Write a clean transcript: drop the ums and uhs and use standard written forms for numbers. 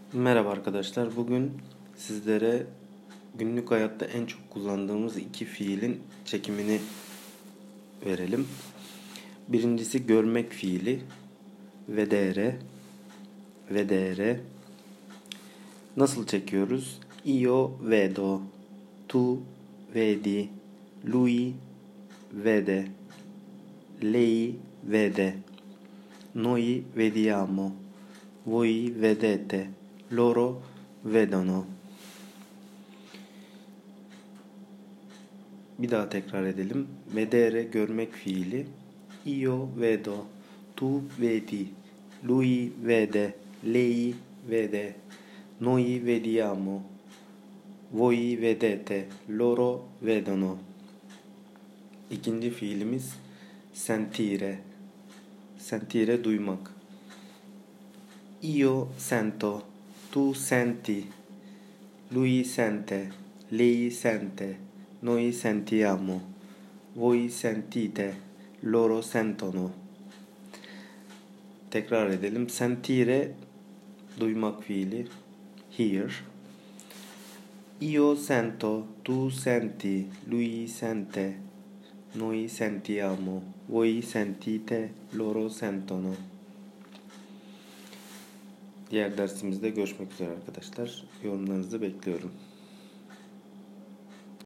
Merhaba arkadaşlar. Bugün sizlere günlük hayatta en çok kullandığımız iki fiilin çekimini verelim. Birincisi görmek fiili. Vedere. Vedere. Nasıl çekiyoruz? Io vedo. Tu vedi. Lui vede. Lei vede. Noi vediamo. Voi vedete. Loro vedono. Bir daha tekrar edelim. Vedere görmek fiili. Io vedo. Tu vedi. Lui vede. Lei vede. Noi vediamo. Voi vedete. Loro vedono. İkinci fiilimiz sentire. Sentire duymak. Io sento. Tu senti. Lui sente. Lei sente. Noi sentiamo. Voi sentite. Loro sentono. Tekrar edelim. Sentire duymak fiili. Hear. Io sento. Tu senti. Lui sente. Noi sentiamo. Voi sentite. Loro sentono. Diğer dersimizde görüşmek üzere arkadaşlar. Yorumlarınızı bekliyorum.